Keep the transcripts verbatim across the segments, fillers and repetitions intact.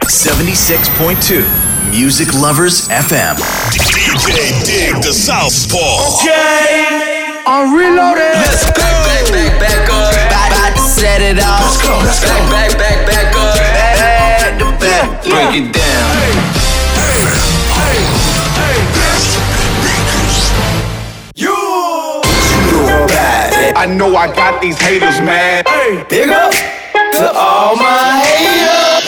seventy-six point two Music Lovers エフエム D J Dig the Southpaw. Okay, I'm reloaded. Let's go. Back, back, back, back up. About, about to set it off. Let's go, let's go. Back, back, back, back up. Back to back. Break yeah. it down. Hey, hey, hey, hey. You. I know I got these haters mad. Hey, big up to all my haters.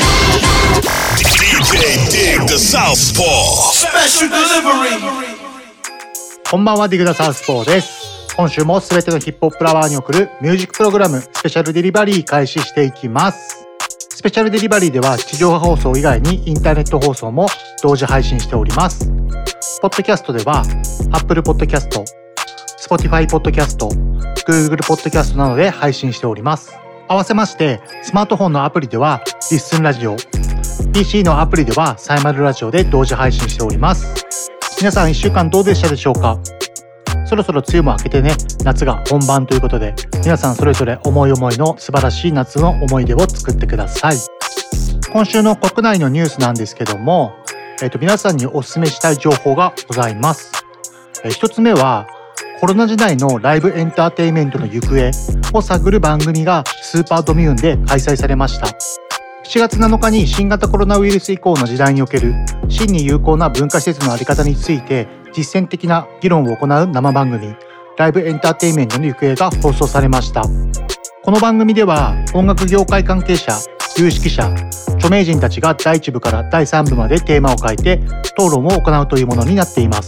D J Dig the Southpaw. Special delivery. こんばんは、ディグダサウスポーです。今週もすべてのヒップホップラバーに送るミュージックプログラムスペシャルデリバリー開始していきます。スペシャルデリバリーでは地上波放送以外にインターネット放送も同時配信しております。ポッドキャストでは Apple Podcast、Spotify Podcast、Google Podcast などで配信しております。合わせましてスマートフォンのアプリではリッスンラジオ、ピーシー のアプリではサイマルラジオで同時配信しております。皆さんいっしゅうかんどうでしたでしょうか。そろそろ梅雨も明けてね、夏が本番ということで、皆さんそれぞれ思い思いの素晴らしい夏の思い出を作ってください。今週の国内のニュースなんですけども、えーと、皆さんにお勧めしたい情報がございます。えー、一つ目は、コロナ時代のライブエンターテインメントの行方を探る番組がスーパードミューンで開催されました。しちがつなのかに新型コロナウイルス以降の時代における真に有効な文化施設の在り方について実践的な議論を行う生番組ライブエンターテインメントの行方が放送されました。この番組では音楽業界関係者、有識者、著名人たちがだいいち部からだいさん部までテーマを変えて討論を行うというものになっています。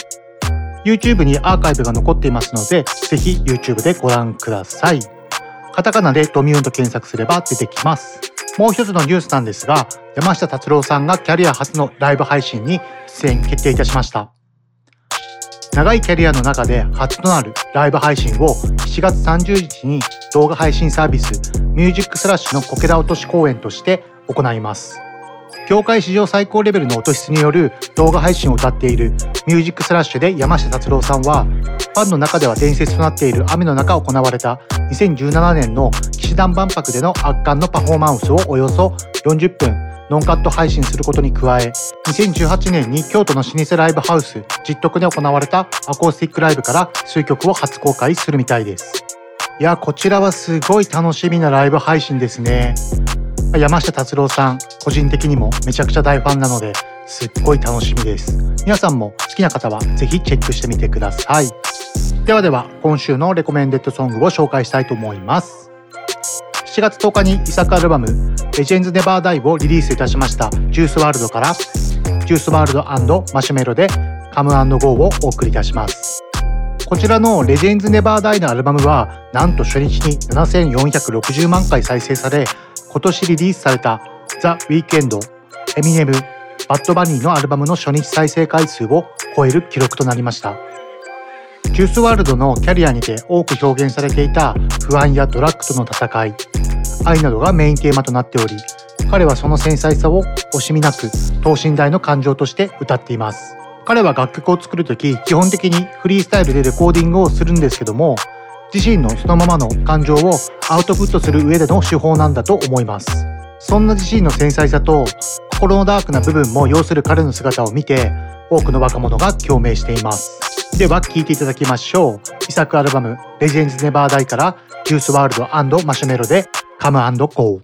YouTube にアーカイブが残っていますのでぜひ YouTube でご覧ください。カタカナでドミューンと検索すれば出てきます。もう一つのニュースなんですが、山下達郎さんがキャリア初のライブ配信に出演決定いたしました。長いキャリアの中で初となるライブ配信をしちがつさんじゅうにちに動画配信サービスミュージックスラッシュのこけら落とし公演として行います。業界史上最高レベルの音質による動画配信を歌っているミュージックスラッシュで山下達郎さんは、ファンの中では伝説となっている雨の中行われたにせんじゅうななねんの騎士団万博での圧巻のパフォーマンスをおよそよんじゅっぷんノンカット配信することに加え、にせんじゅうはちねんに京都の老舗ライブハウス実徳で行われたアコースティックライブから数曲を初公開するみたいです。いや、こちらはすごい楽しみなライブ配信ですね。山下達郎さん、個人的にもめちゃくちゃ大ファンなのですっごい楽しみです。皆さんも好きな方はぜひチェックしてみてください。ではでは今週のレコメンデッドソングを紹介したいと思います。しちがつとおかに遺作アルバムレジェンズネバーダイをリリースいたしましたジュースワールドからジュースワールド&マシュメロでカム&ゴーをお送りいたします。こちらのレジェンズネバーダイのアルバムはなんと初日にななせんよんひゃくろくじゅうまんかい再生され、今年リリースされたザ・ウィークエンド、エミネム、バッドバニーのアルバムの初日再生回数を超える記録となりました。ジュースワールドのキャリアにて多く表現されていた不安やドラッグとの戦い、愛などがメインテーマとなっており、彼はその繊細さを惜しみなく等身大の感情として歌っています。彼は楽曲を作るとき基本的にフリースタイルでレコーディングをするんですけども、自身のそのままの感情をアウトプットする上での手法なんだと思います。そんな自身の繊細さと心のダークな部分も要する彼の姿を見て多くの若者が共鳴しています。では聴いていただきましょう。遺作アルバムレジェンズネバーダイからジュースワールド&マシュメロでカム&ゴー。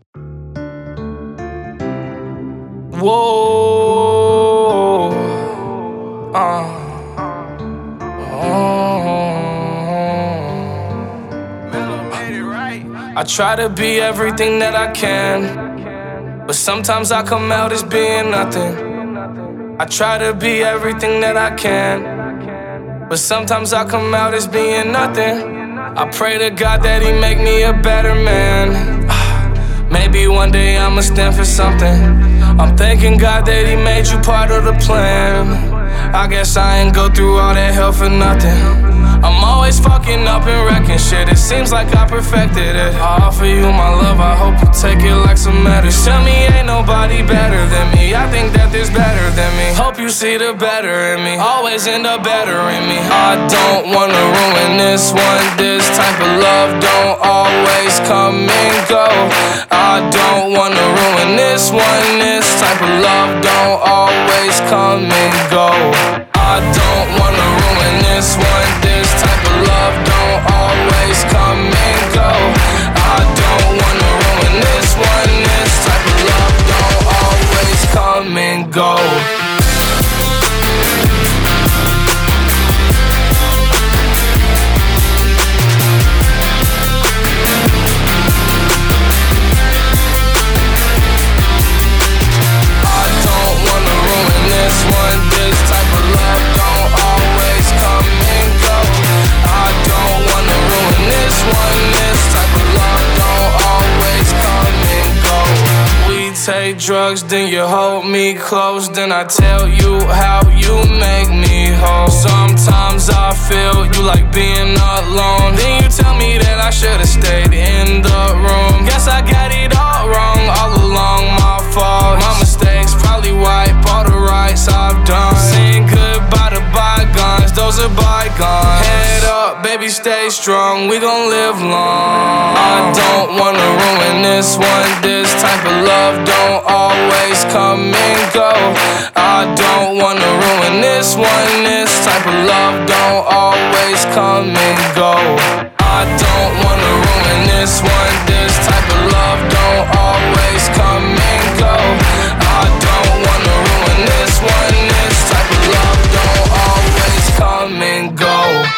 Whoa, uh, I try to be everything that I can, but sometimes I come out as being nothing. I try to be everything that I can, but sometimes I come out as being nothing. I pray to God that He make me a better man. Maybe one day I'ma stand for something. I'm thanking God that He made you part of the plan. I guess I ain't go through all that hell for nothing. I'm always fucking up and wrecking shit. It seems like I perfected it. I offer you my love, I hope you take it like some medicine. Tell me ain't nobody better than me. I think that there's better than me. Hope you see the better in me. Always end up better in me. I don't wanna ruin this one. This type of love don't always come and go. I don't wanna ruin this one. This type of love don't always come and go. I don't wanna ruin this one. This type of love don't always come and go. I don't wanna ruin this one. This type of love don't always come and go. Take drugs, then you hold me close. Then I tell you how you make me whole. Sometimes I feel you like being alone. Then you tell me that I should've stayed in the room. Guess I got it all wrong, all along my fault. My mistakes probably wipe all the rights I've done. Saying goodbye to bygones, those are bygones. Head up, baby, stay strong, we gon' live long. I don't wanna ruin this one. This type of love don't always come and go. I don't wanna ruin this one. This type of love don't always come and go. I don't wanna ruin this one. This type of love don't always come and go. I don't wanna ruin this one. This type of love don't always come and go.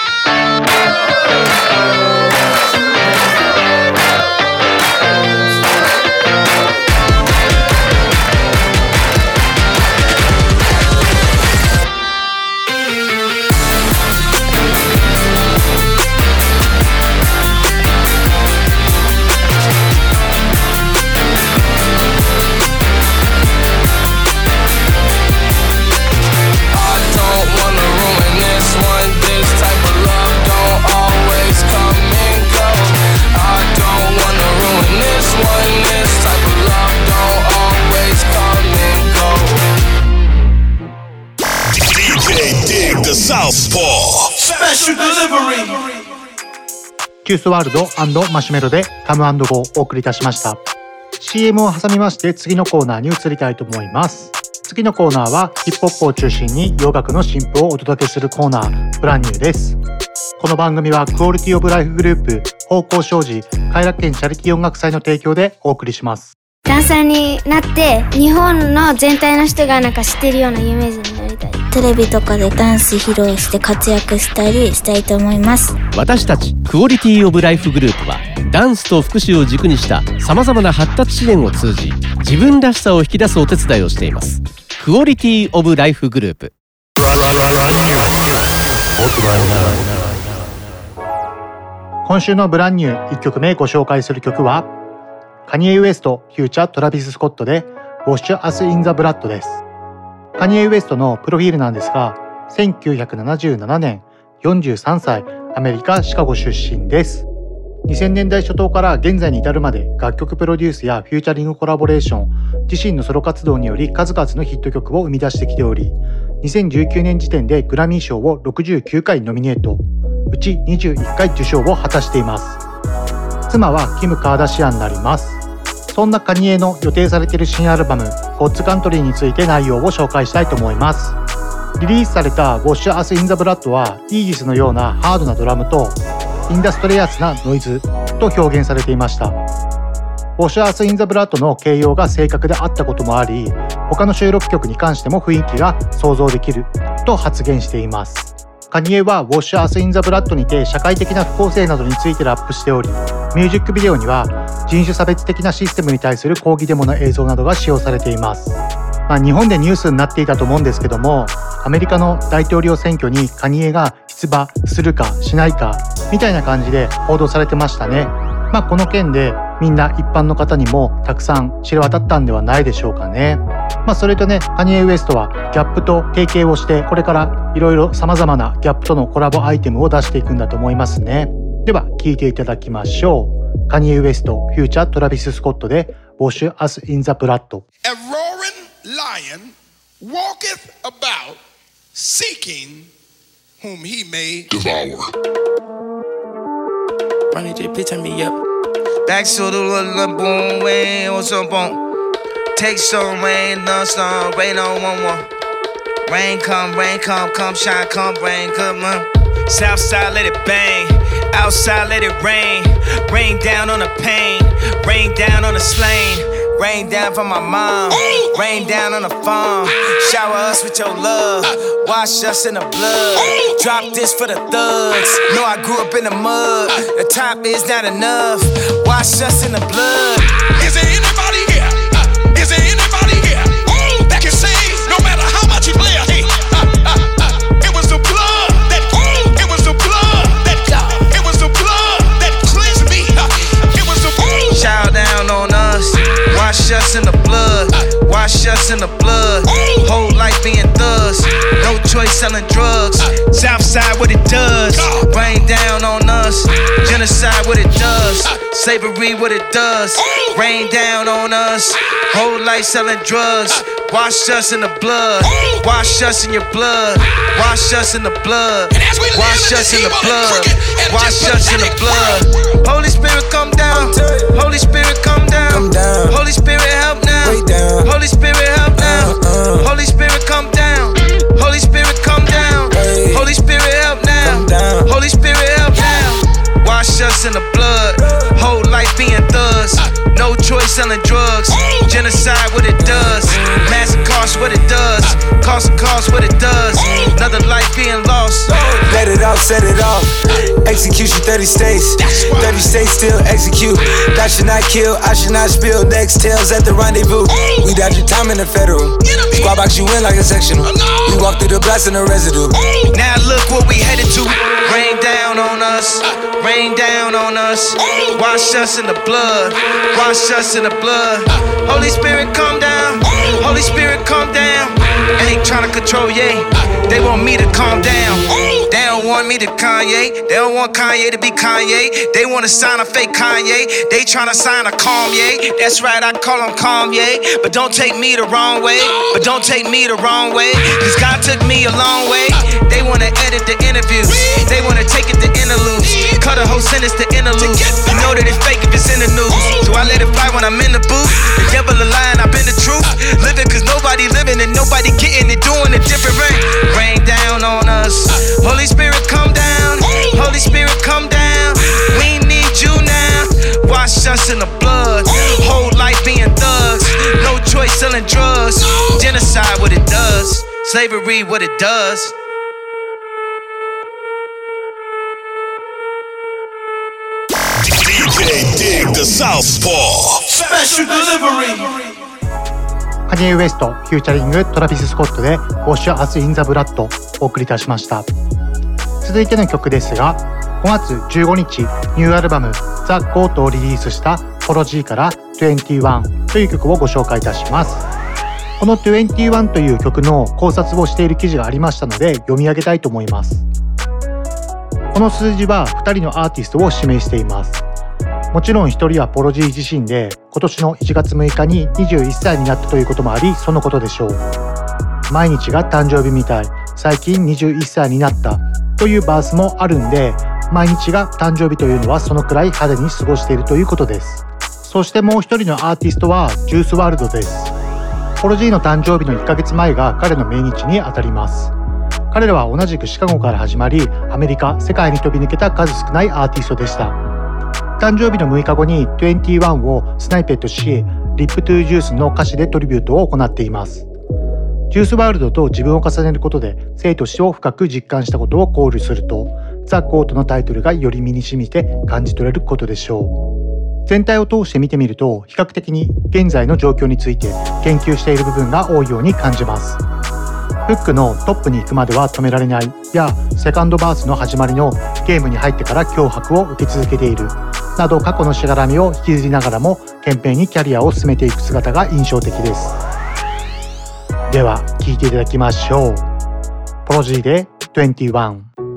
Special delivery キュースワールド&マシュメロでカム&ゴーをお送りいたしました。 シーエム を挟みまして次のコーナーに移りたいと思います。次のコーナーはヒップホップを中心に洋楽の新譜をお届けするコーナー、ブランニューです。この番組はクオリティオブライフグループ方向商事偕楽園チャリティー音楽祭の提供でお送りします。 ダンサーになって日本の全体の人がなんか知ってるような有名人になりたい。 テレビとかでダンス披露して活躍したりしたいと思います。 私たちクオリティオブライフグループはダンスと福祉を軸にしたさまざまな発達支援を通じ自分らしさを引き出すお手伝いをしています。クオリティオブライフグループ。 今週のブランニューいっきょくめご紹介する曲はカニエ・ウエストフューチャートラビス・スコットで Wash Us in the Blood です。カニエ・ウエストのプロフィールなんですがせんきゅうひゃくななじゅうななねんよんじゅうさんさいアメリカ・シカゴ出身です。にせんねんだい初頭から現在に至るまで楽曲プロデュースやフューチャリングコラボレーション、自身のソロ活動により数々のヒット曲を生み出してきており、にせんじゅうきゅうねん時点でグラミー賞をろくじゅうきゅうかいノミネート、うちにじゅういっかい受賞を果たしています。妻はキム・カーダシアンになります。そんなカニエの予定されている新アルバム God's Country について内容を紹介したいと思います。リリースされた Wash Us in the Blood はイージスのようなハードなドラムとインダストリアスなノイズと表現されていました。Wash Us in the Blood の形容が正確であったこともあり、他の収録曲に関しても雰囲気が想像できると発言しています。カニエは Wash Us in the Blood にて社会的な不公正などについてラップしており、ミュージックビデオには人種差別的なシステムに対する抗議デモの映像などが使用されています。まあ、日本でニュースになっていたと思うんですけども、アメリカの大統領選挙にカニエが出馬するかしないかみたいな感じで報道されてましたね。まあ、この件でみんな一般の方にもたくさん知れ渡ったんではないでしょうかね。 まあそれとね、カニエ・ウエストはギャップと提携をして、これからいろいろ様々なギャップとのコラボアイテムを出していくんだと思いますね。では聴いていただきましょう。カニエ・ウエストフューチャートラビス・スコットで Wash Us in the Blood。 A roaring lion walketh about seeking whom he may devour. Ronnie J, please turn me up. Back to the little boom, way or some boom. Take some rain, no sun, rain on one one. Rain come, rain come, come shine, come rain, come on. Southside let it bang, outside let it rain. Rain down on the pain, rain down on the slain. Rain down from my mom, rain down on the farm. Shower us with your love, wash us in the blood. Drop this for the thugs, know I grew up in the mud. The top is not enough, wash us in the blood. Is there anybody here? Is there anybody here that can say no matter how much you play a hate? It was the blood that, it was the blood that, it was the blood that cleansed me. It was the blood. Shower down on us, wash us in the blood, wash us in the blood. Whole life being thugs, no choice selling drugs. Southside what it does, rain down on us. Genocide what it does, slavery what it does. Rain down on us, whole life selling drugs. Wash us in the blood, wash us in your blood, wash us in the blood, wash us in the blood, wash us in the blood. Holy Spirit come down, Holy Spirit come down, Holy Spirit help now, Holy Spirit help now, Holy Spirit come down, Holy Spirit come down, Holy Spirit help now, Holy Spirit help now. Wash us in the blood, whole life being thugs. No choice selling drugs, genocide what it does. Massive cost what it does, cost of cost what it does. Another life being lost. Let it out, set it off. Execution thirty states, thirty states still execute. That should not kill, I should not spill. Next tails at the rendezvous. We dodge your time in the federal. Squad box you in like a sectional. We walk through the blast in the residue. Now look what we headed to. Rain down on us, rain down on us. Wash us in the blood, wash us in the blood. Holy Spirit come down, Holy Spirit come down. And they tryna control, yeah, they want me to calm down. They don't want me to Kanye, they don't want Kanye to be Kanye. They wanna sign a fake Kanye, they tryna sign a Kanye. That's right, I call him Kanye. But don't take me the wrong way, but don't take me the wrong way. Cause God took me a long way. They wanna edit the interviews, they wanna take it to interludes. Cut a whole sentence to interludes. You know that it's fake if it's in the news. So I let it fly when I'm in the booth. The devil a lie and I've been the truth. Living cause nobody living and nobody getting it, doing it different. Rain, rain down on us. Holy Spirit come down, Holy Spirit come down. We need you now. Wash us in the blood, whole life being thugs. No choice selling drugs, genocide what it does, slavery what it does. D J Dig the Southpaw Special Delivery。 カニエ・ウエストフューチャリングトラビス・スコットで Wash Us in the Blood をお送りいたしました。続いての曲ですが、ごがつじゅうごにちニューアルバム The Goat をリリースしたポロジーからにじゅういちという曲をご紹介いたします。このにじゅういちという曲の考察をしている記事がありましたので読み上げたいと思います。この数字はふたりのアーティストを指名しています。もちろんひとりはポロジー自身で今年のいちがつむいかににじゅういっさいになったということもあり、そのことでしょう。毎日が誕生日みたい、最近にじゅういっさいになったというバースもあるんで、毎日が誕生日というのはそのくらい派手に過ごしているということです。そしてもう一人のアーティストはジュースワールドです。ポロジーの誕生日のいっかげつまえが彼の命日にあたります。彼らは同じくシカゴから始まり、アメリカ、世界に飛び抜けた数少ないアーティストでした。誕生日のむいかごににじゅういちをスナイペットし、リップトゥージュースの歌詞でトリビュートを行っています。ジュースワールドと自分を重ねることで生と死を深く実感したことを考慮すると、ザ・ゴートのタイトルがより身に染みて感じ取れることでしょう。全体を通して見てみると、比較的に現在の状況について研究している部分が多いように感じます。フックのトップに行くまでは止められないや、セカンドバースの始まりのゲームに入ってから脅迫を受け続けているなど、過去のしがらみを引きずりながらも懸命にキャリアを進めていく姿が印象的です。 では聴いていただきましょう。ポロジーでにじゅういち。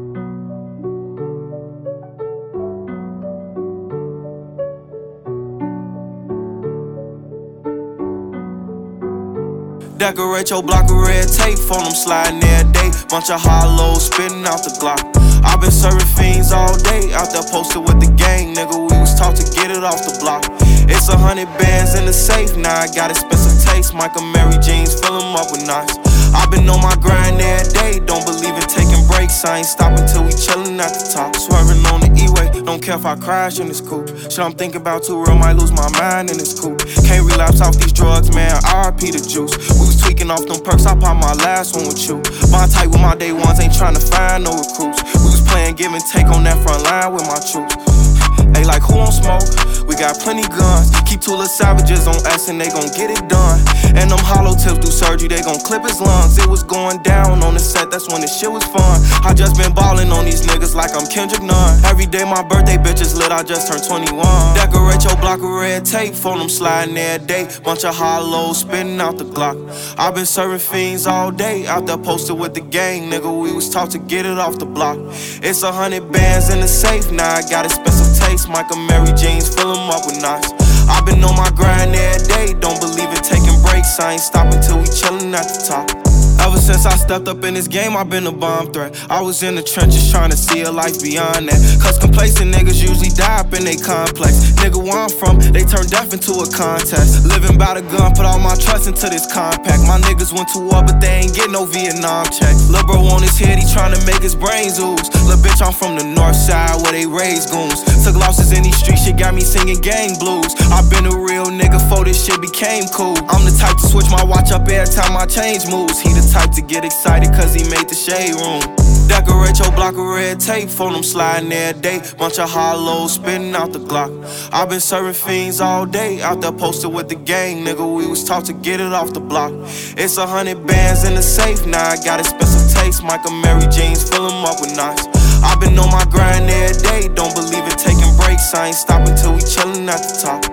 Decorate your block with red tape, phone them sliding every day. Bunch of hollows spitting out the Glock. I've been serving fiends all day, out there posted with the gang, nigga. We was taught to get it off the block. It's a hundred bands in the safe, now I got expensive taste. Michael Mary jeans, fill them up with knots. I've been on my grind every day, don't believe in taking breaks. I ain't stopping till we chillin' at the top. Swerving on the E-way, don't care if I crash in this coupe. Shit I'm thinking about too real, might lose my mind in this coupe. Can't relapse off these drugs, man, R I P the juice. We was tweaking off them perks, I popped my last one with you. Bond tight with my day ones, ain't tryna find no recruits. We was playing give and take on that front line with my troops. Hey, like who on smoke? We got plenty guns. Keep two little savages on us and they gon' get it done. And them hollow tips do surgery, they gon' clip his lungs. It was going down on the set, that's when the shit was fun. I just been ballin' on these niggas like I'm Kendrick Nunn. Every day my birthday bitches lit, I just turned twenty-one. Decorate your block with red tape, phone them sliding every day. Bunch of hollows spitting out the Glock. I've been serving fiends all day, out there posted with the gang, nigga. We was taught to get it off the block. It's a hundred bands in the safe, now I got expensive taste. Michael Mary jeans, fill them up with knots. I've been on my grind every day, don't believe in taking breaks. I ain't stopping till we chillin' at the top. Ever since I stepped up in this game, I've been a bomb threat. I was in the trenches trying to see a life beyond that. Cause complacent niggas usually die up in they complex. Nigga, where I'm from, they turn death into a contest. Living by the gun, put all my trust into this compact. My niggas went to war, but they ain't get no Vietnam check. Lil' bro on his head, he tryna make his brains ooze. Lil' bitch, I'm from the north side where they raise goons. Took losses in these streets, shit got me singing gang blues. I been a real nigga before this shit became cool. I'm the type to switch my watch up every time my change moves. He the type to get excited cause he made the shade room. Decorate your block with red tape, phone them sliding every day. Bunch of hollows spitting out the Glock. I've been serving fiends all day, out there posted with the gang, nigga. We was taught to get it off the block. It's a hundred bands in the safe, now I got expensive taste. Michael Mary jeans, fill them up with knots. I've been on my grind every day, don't believe in taking breaks. I ain't stopping till we chillin' at the top.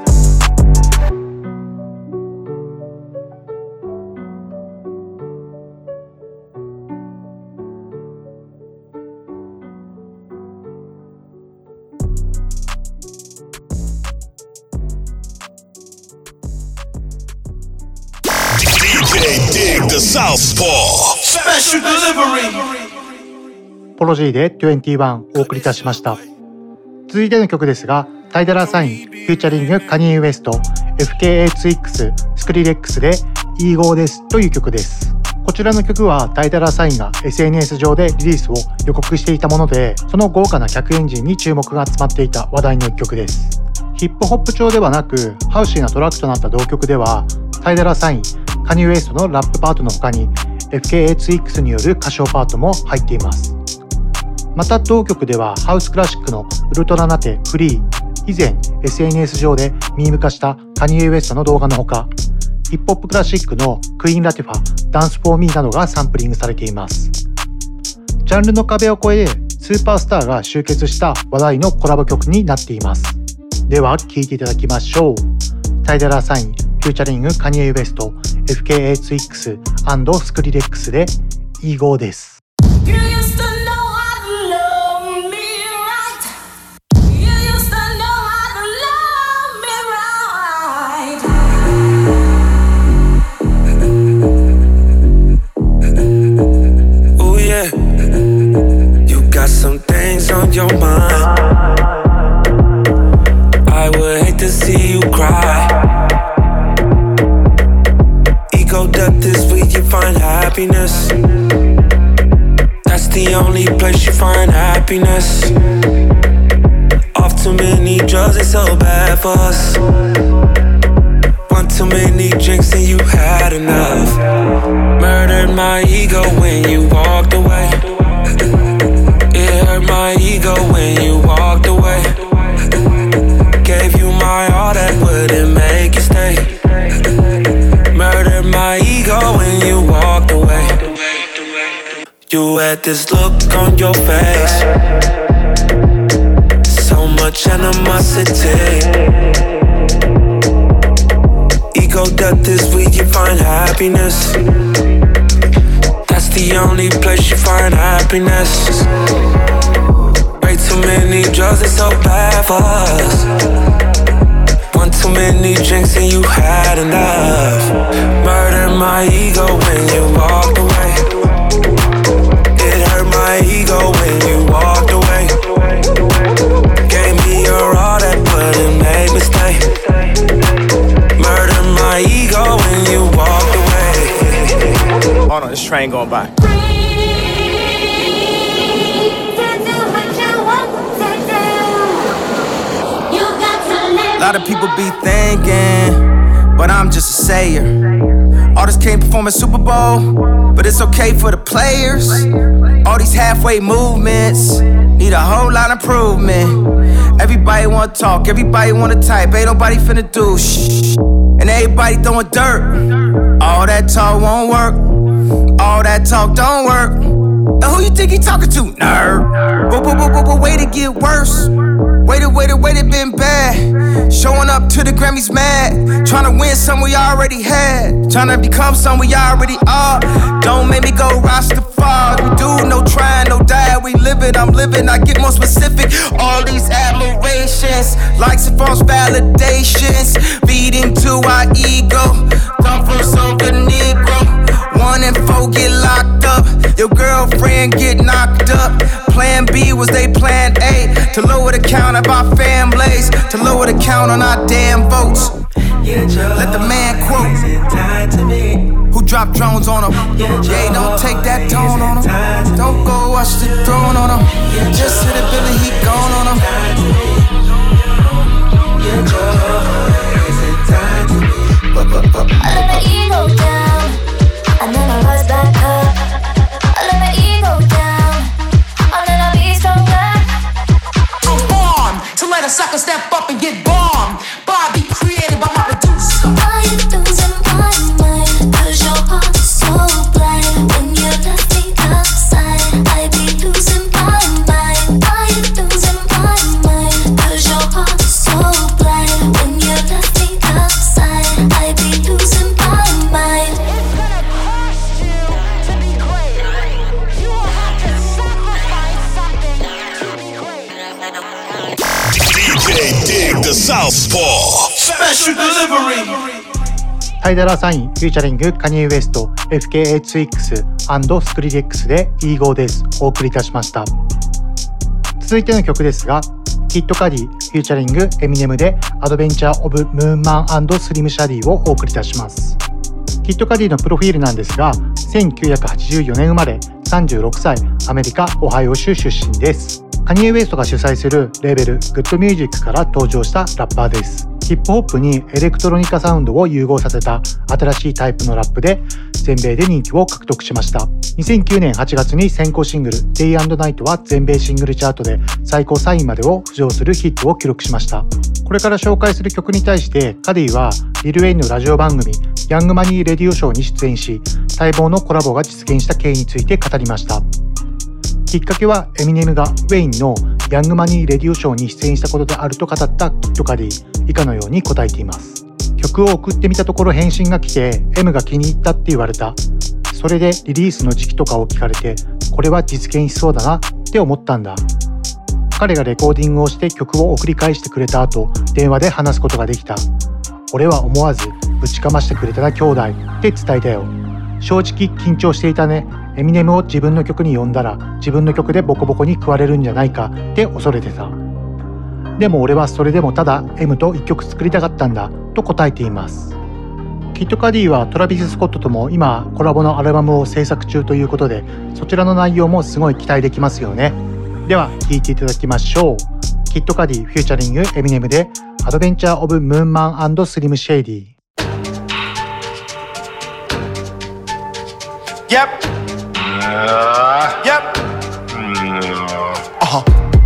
Dig the Southpaw Special Delivery ポロジーでにじゅういちお送りいたしました。続いての曲ですが、タイダラサインフューチャリングカニエ・ウエスト エフケーエーツイックス スクリレックスでイーゴーですという曲です。こちらの曲はタイダラサインが エスエヌエス 上でリリースを予告していたもので、その豪華な客エンジンに注目が集まっていた話題の一曲です。ヒップホップ調ではなくハウシーなトラックとなった同曲では、タイダラサインカニエ・ウエストのラップパートの他に エフケーエーツイックス による歌唱パートも入っています。また同曲ではハウスクラシックのウルトラナテフリー、以前 エスエヌエス 上でミーム化したカニエ・ウエストの動画のほか、ヒップホップクラシックのクイーン・ラティファ、ダンス・フォー・ミーなどがサンプリングされています。ジャンルの壁を越えスーパースターが集結した話題のコラボ曲になっています。では聴いていただきましょう。タイダラサインフューチャリングカニエ・ウエスト エフケーエーツイックス スクリレックスでイーゴーです。 Some things on your mind. I would hate to see you cry. Ego death is where you find happiness. That's the only place you find happiness. Off too many drugs, it's so bad for us. One too many drinks and you had enough. Murdered my ego when you walked away. It hurt my ego when you walked away. Gave you my all that wouldn't make you stay. Murdered my ego when you walked away. You had this look on your face, so much animosity. Ego death is where you find happiness. the only place you find happiness. Way too many drugs, it's so bad for us. One too many drinks and you had enough. Murdered my ego when you walked away. It hurt my ego when you walked away. Gave me your all that but it made me stay. Murdered my ego when you walked away. Hold on, this train going by. A lot of people be thinking, but I'm just a sayer. Artists can't perform at Super Bowl, but it's okay for the players. All these halfway movements need a whole lot of improvement. Everybody wanna talk, everybody wanna type, ain't nobody finna do shh. And everybody throwing dirt. All that talk won't work. All that talk don't work. And who you think he talking to, nerd? But, but, but, but, but wait to get worse. Waited, waited, waited, been bad. Showing up to the Grammys mad. Tryna win something we already had. Tryna become something we already are. Don't make me go Rastafari. We do no trying, no die. We live it, I'm living, I get more specific. All these admirations, likes and false validations, feeding to our ego. Come from Soca Negro. One and four get locked up. Your girlfriend get knocked up. Plan B was they plan A. To lower the count of our families. To lower the count on our damn votes. Let the man quote. Who dropped drones on him? Yeah, don't take that tone on him. Don't go watch the throne on him. Just hit a Billy, he gone on him. I let my ego down, and then I rise back up. I let my ego down, and then I'll be stronger. I'm born to let a sucker step up and get bombed. Bobby created by my producer. Why you losing my mind? Cause your heart is so blind. When you left me outside, I be losing my mind. Why you losing my mind? Cause your heart is so blind. When you left me outside, I be losing my mind. Dig the Southpaw Special Delivery タイダラサインフューチャリングカニエ・ウエスト エフケーエイチエックス スクリレックスで イーゴー ですお送りいたしました。続いての曲ですがキッドカディフューチャリングエミネムでアドベンチャー・オブ・ムーンマン&スリム・シャディをお送りいたします。キッドカディのプロフィールなんですがせんきゅうひゃくはちじゅうよねん生まれさんじゅうろくさいアメリカ・オハイオ州出身です。カニエ・ウエストが主催するレーベルグッドミュージックから登場したラッパーです。ヒップホップにエレクトロニカサウンドを融合させた新しいタイプのラップで全米で人気を獲得しました。にせんきゅうねんはちがつに先行シングル Day and Night は全米シングルチャートで最高さんいまでを浮上するヒットを記録しました。これから紹介する曲に対してカディはリル・ウェインのラジオ番組ヤングマニー・レディオショーに出演し待望のコラボが実現した経緯について語りました。きっかけはエミネムがウェインのヤングマニーレディオショーに出演したことであると語ったキッドカディ以下のように答えています。曲を送ってみたところ返信が来て M が気に入ったって言われた。それでリリースの時期とかを聞かれてこれは実現しそうだなって思ったんだ。彼がレコーディングをして曲を送り返してくれた後電話で話すことができた。俺は思わずぶちかましてくれたな兄弟って伝えたよ。正直緊張していたね。エミネムを自分の曲に呼んだら自分の曲でボコボコに食われるんじゃないかって恐れてた。でも俺はそれでもただ M と一曲作りたかったんだと答えています。キッドカディはトラビス・スコットとも今コラボのアルバムを制作中ということでそちらの内容もすごい期待できますよね。では聴いていただきましょう。キッドカディフューチャリングエミネムでアドベンチャー・オブ・ムーンマン&スリム・シェイディ。 Yep. Uh, yep. Uh-huh.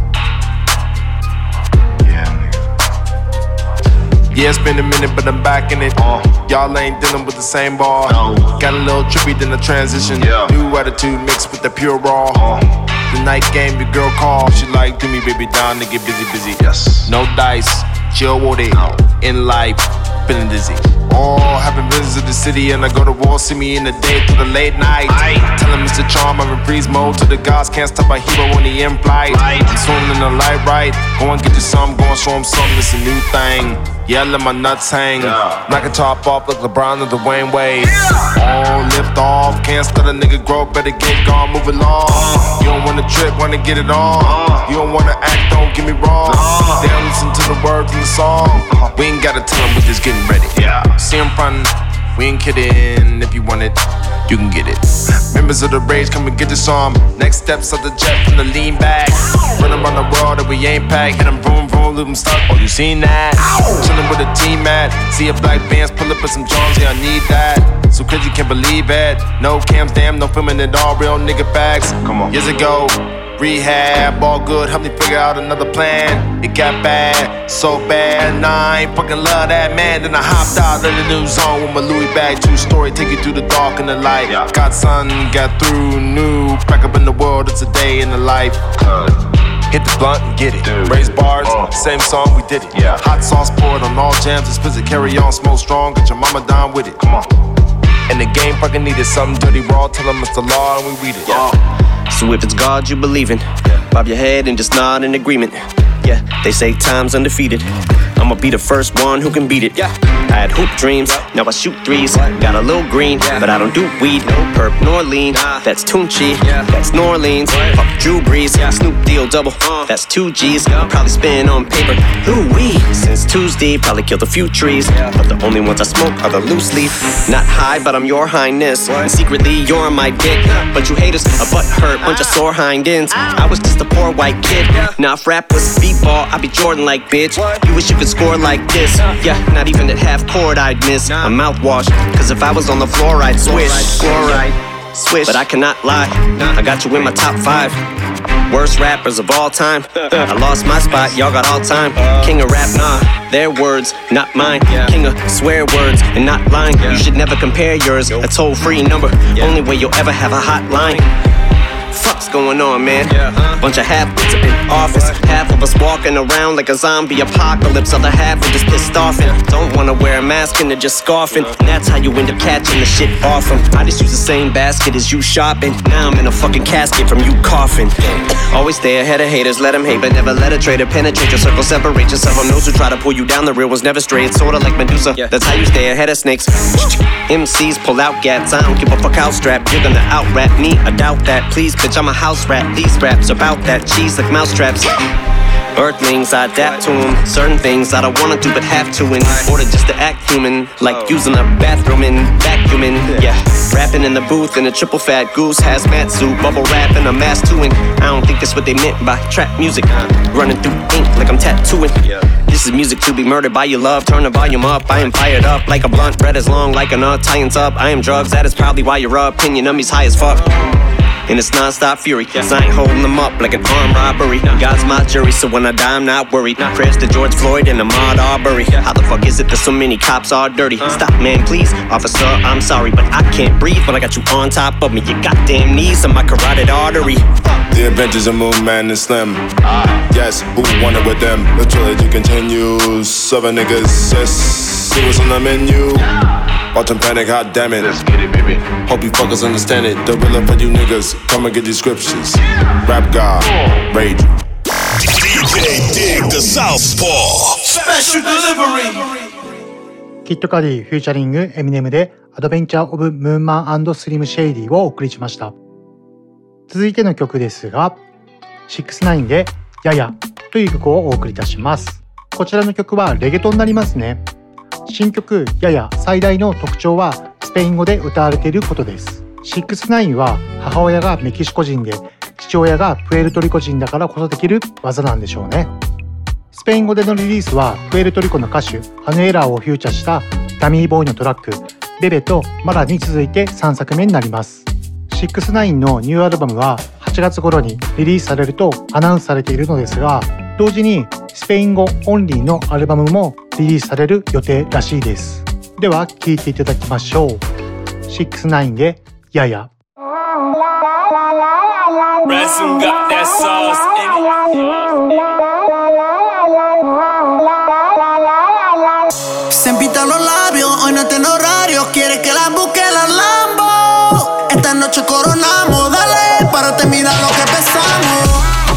Yeah, nigga. Yeah, it's been a minute, but I'm back in it. Uh, Y'all ain't dealing with the same ball. No. Got a little trippy, then the transition. Yeah. New attitude mixed with the pure raw. Uh, the night game, the girl call. She like, do me, baby, down to get busy, busy. Yes. No dice, chill with it. No. In life, feeling dizzy. Oh, haven't visited the city and I go to war, see me in the day through the late night. Tell him Mister Charm, I'm in freeze mode to the gods, can't stop my hero when he in flight. I'm swimming in the light right, go and get you some, go and show him something, it's a new thing. Yeah, let my nuts hang. Knock a top off like LeBron or the Wayne Wade. Oh, lift off, can't start a nigga grow, better get gone, move along. You don't wanna trip, wanna get it on. You don't wanna act, don't get me wrong. They don't listen to the words in the song. We ain't gotta tell them, we just getting ready. See him frontin', we ain't kidding. If you want it, you can get it. Members of the rage, come and get this on. Next steps of the jet from the lean back. Run around the world that we ain't packed. Hit them vroom vroom, leave them stuck. Oh, you seen that? Chillin' with a team at. See a black bands, pull up with some Jones, yeah, I need that. So crazy, can't believe it. No cams, damn, no filming it all. Real nigga facts. Come on. Years ago, rehab, all good, help me figure out another plan. It got bad, so bad, nah, I ain't fucking love that man. Then I hopped out of the new zone with my Louis bag, true story, take you through the dark and the light. Got sun, got through, new, back up in the world, it's a day in the life. Hit the blunt and get it. Raise bars, same song, we did it. Hot sauce poured on all jams, explicit, carry on, smoke strong, get your mama down with it. Come on. And the game fucking needed something dirty raw, tell them it's the law and we read it. Yeah. So if it's God you believe in, bob your head and just nod in agreement. Yeah, they say time's undefeated. I'ma be the first one who can beat it. I had hoop dreams, now I shoot threes. Got a little green, but I don't do weed. No perp nor lean, that's Tunchi. That's New Orleans, fuck Drew Brees. Snoop Deal double, that's two G's. Probably spin on paper, Louis. Since Tuesday, probably killed a few trees. But the only ones I smoke are the loose leaf. Not high, but I'm your highness. And secretly, you're my dick. But you haters, a butt hurt, bunch of sore hind ends. I was just a poor white kid. Now if rap was speedball, I'd be Jordan like bitch. You wish you could score like this. Yeah, not even at half court I'd miss a mouthwash. Cause if I was on the floor I'd swish. Fluoride, swish. But I cannot lie, I got you in my top five worst rappers of all time. I lost my spot, y'all got all time. King of rap, nah, their words, not mine. King of swear words and not lying. You should never compare yours, a toll free number. Only way you'll ever have a hotline. Fuck's going on, man? Bunch of half-wits up in office. Half of us walking around like a zombie apocalypse. Other half are just pissed off and don't wanna wear a mask and they're just scoffing. And that's how you end up catching the shit off them. I just use the same basket as you shopping. Now I'm in a fucking casket from you coughing. Always stay ahead of haters, let them hate, but never let a traitor penetrate your circle. Separate yourself from those who try to pull you down. The real one's never straight, sorta like Medusa. That's how you stay ahead of snakes. M Cs pull out gats, I don't give a fuck how strapped. You're gonna out-rap me, I doubt that. Please, bitch, I'm a house rat. These raps about that cheese like mousetraps. Earthlings, I adapt to them. Certain things I don't wanna do but have to in order just to act human. Like using a bathroom and vacuuming. Yeah, rapping in the booth in a triple fat goose hazmat suit. Bubble wrap and a mask too. And I don't think that's what they meant by trap music. Running through ink like I'm tattooing. This is music to be murdered by your love. Turn the volume up, I am fired up like a blunt. Bread is long like a nut, tie-ins up. I am drugs, that is probably why your opinion of me's high as fuck. And it's non-stop fury, cause I ain't holding them up like an armed robbery. God's my jury, so when I die I'm not worried. Prayers to George Floyd and Ahmaud Arbery. How the fuck is it that so many cops are dirty? Stop, man, please, officer, I'm sorry, but I can't breathe when I got you on top of me. Your goddamn knees on my carotid artery. The Adventures of Moon Man and Slim. Yes, who wanted with them? The trilogy continues. Seven niggas, yes, see what's on the menu. Watch them panic, hot damn it. Let's get it, baby. Hope you fuckers understand it. The real for you niggas, come and get these scriptures. Rap God, rage. D J Dig the Southpaw Special Delivery。 キッドカディフューチャリングエミネムでアドベンチャーオブムーンマン&スリムシェイディをお送りしました。続いての曲ですが、シックスナインでややという曲をお送りいたします。こちらの曲はレゲトになりますね。新曲やや最大の特徴はスペイン語で歌われていることです。シックスナインは母親がメキシコ人で父親がプエルトリコ人だからこそできる技なんでしょうね。スペイン語でのリリースはプエルトリコの歌手アヌエラーをフューチャーしたダミーボーイのトラックベベとマラに続いてさんさくめになります。シックスナインのニューアルバムははちがつ頃にリリースされるとアナウンスされているのですが、同時にスペイン語オンリーのアルバムもリリースされる予定らしいです。では聴いていただきましょう。シックスナインでやや。 Ransom got that sauce in it. Se pintan los labios, hoy no Imagínate en horario, quiere que la busque la Lambo. Esta noche coronamos, dale, párate, mira lo que pesamos.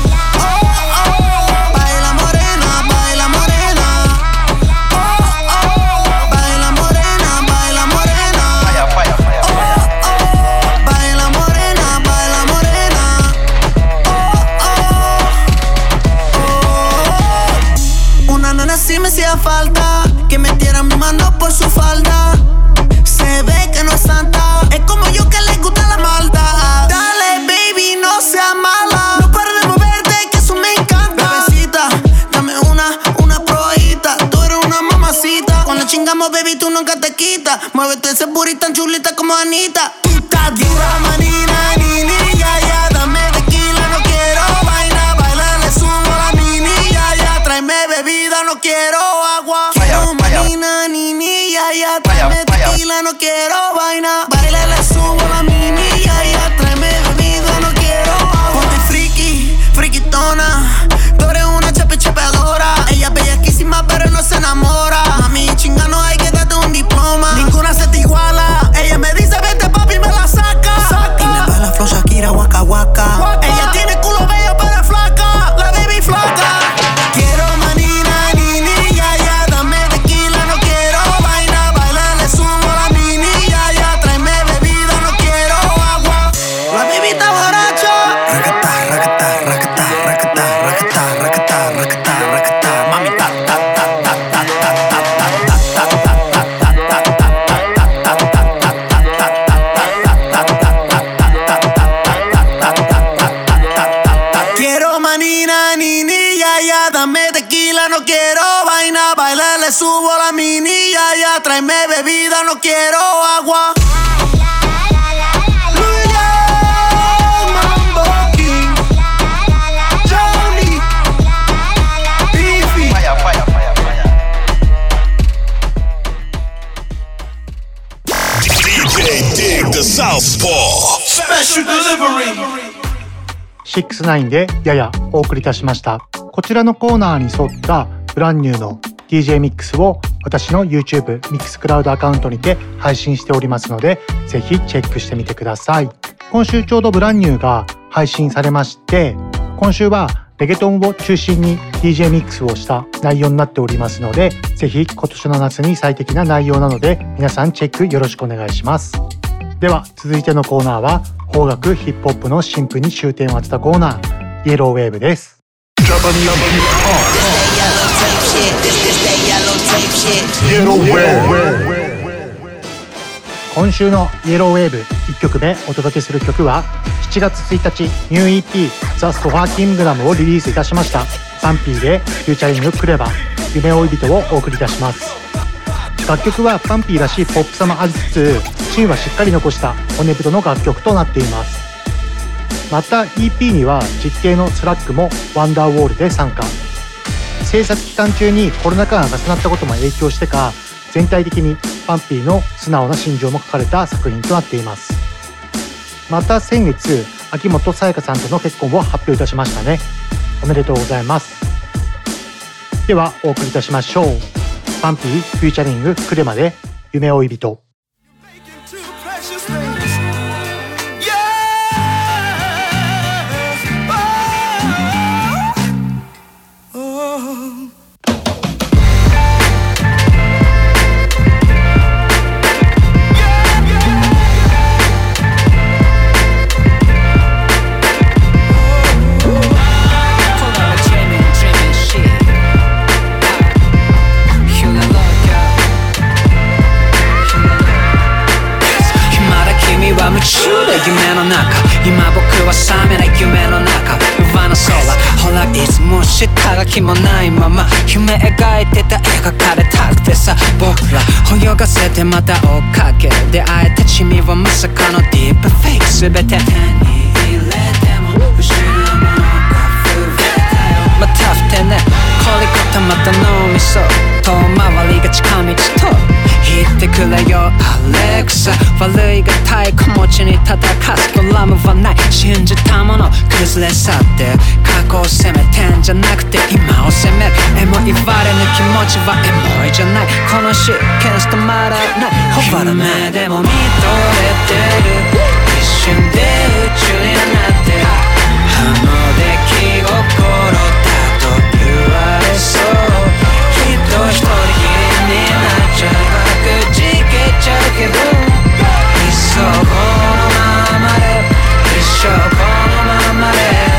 Si me hacía falta que metieran mi mano por su falda. Se ve que no es santa, es como yo que le gusta la maldad. Dale, baby, no seas mala, no pares de moverte, que eso me encanta. Bebecita, dame una, una probadita. Tú eres una mamacita. Cuando chingamos, baby, tú nunca te quitas. Muévete ese booty tan chulita como Anita. Tú estás dura, manina, ni, ni, ya, ya. Dame tequila, no quiero vaina. Baila, le subo la mini, ya, ya. Tráeme bebida, no quiero agua. Quiero manina, ni, ni, ya, ya. Tráeme tequila, no quiero vaina. Baila, le subo la mini, ya, ya. Tráeme bebida, no quiero agua. Ponte friki, frikitona. Tú eres una chape chapeadora. Ella es bellaquísima, pero no se enamora. Mami, chinga, no hay que darte un diploma. Ninguna se te iguala. Ella me dice, vete, papi, me la saca. saca. Y me baila flow Shakira, waka, waka, waka. Ella tiene culo bello, pero es flaca. La baby flaca. Quiero manina, ni, ni, ya, ya. Dame tequila, no quiero vaina. Baila, le subo la mini, ya, ya. Tráeme bebida, no quiero agua. La baby está borracha. Rakata, rakata, rakata, rakata, rakata, rakata, rakata, rakata. Mami, ta, ta, ta, ta, ta, ta, ta, ta, ta, ta, ta. Quiero manina, ni, ni, ya, ya. Dame tequila, no quiero vaina. Baila, le subo la mini, ya, ya. Tráeme bebida, no quiero agua. Southpaw Special Delivery シックスナインでややお送りいたしました。こちらのコーナーに沿ったブランニューの ディージェー ミックスを私の YouTube ミックスクラウドアカウントにて配信しておりますので、ぜひチェックしてみてください。今週ちょうどブランニューが配信されまして、今週はレゲトンを中心に ディージェー ミックスをした内容になっておりますので、ぜひ今年の夏に最適な内容なので皆さんチェックよろしくお願いします。では続いてのコーナーは邦楽ヒップホップの新譜に終点を当てたコーナー、イエローウェーブです。今週のイエローウェーブいっきょくめお届けする曲はしちがつついたちニュー イーピー ザ・ストファーキングダムをリリースいたしましたパンピーでフューチャリングクレバ夢追い人をお送りいたします。楽曲はパンピーらしいポップさもありつつ芯はしっかり残した骨太の楽曲となっています。また イーピー には実景のスラックもワンダーウォールで参加。制作期間中にコロナ禍が重なったことも影響してか、全体的にパンピーの素直な心情も書かれた作品となっています。また先月秋元才加さんとの結婚を発表いたしましたね。おめでとうございます。ではお送りいたしましょう。パンピーフューチャリングクレマで夢追い人。 夢の中今僕は覚めない夢の中上の空ほらいつも下書きもないまま夢描いてた描かれたくてさ僕ら泳がせてまた追っかけ出会えた君はまさかのディープフェイク全て手に入れても失うものが増えたよまたふてね凝り固まった脳みそ遠回りが近道と引いてくれよアレクサ。悪いが太鼓持ちに叩かすドラムはない。信じたもの崩れ去って過去を責めてんじゃなくて今を責める。エモい言われぬ気持ちはエモいじゃない。このシーケンス止まらない。夢でも見とれてる。一瞬で宇宙になってあの出来心だと言われそう。きっと一人きりになっちゃう。くじけちゃうけどいっそこのままで一生このままで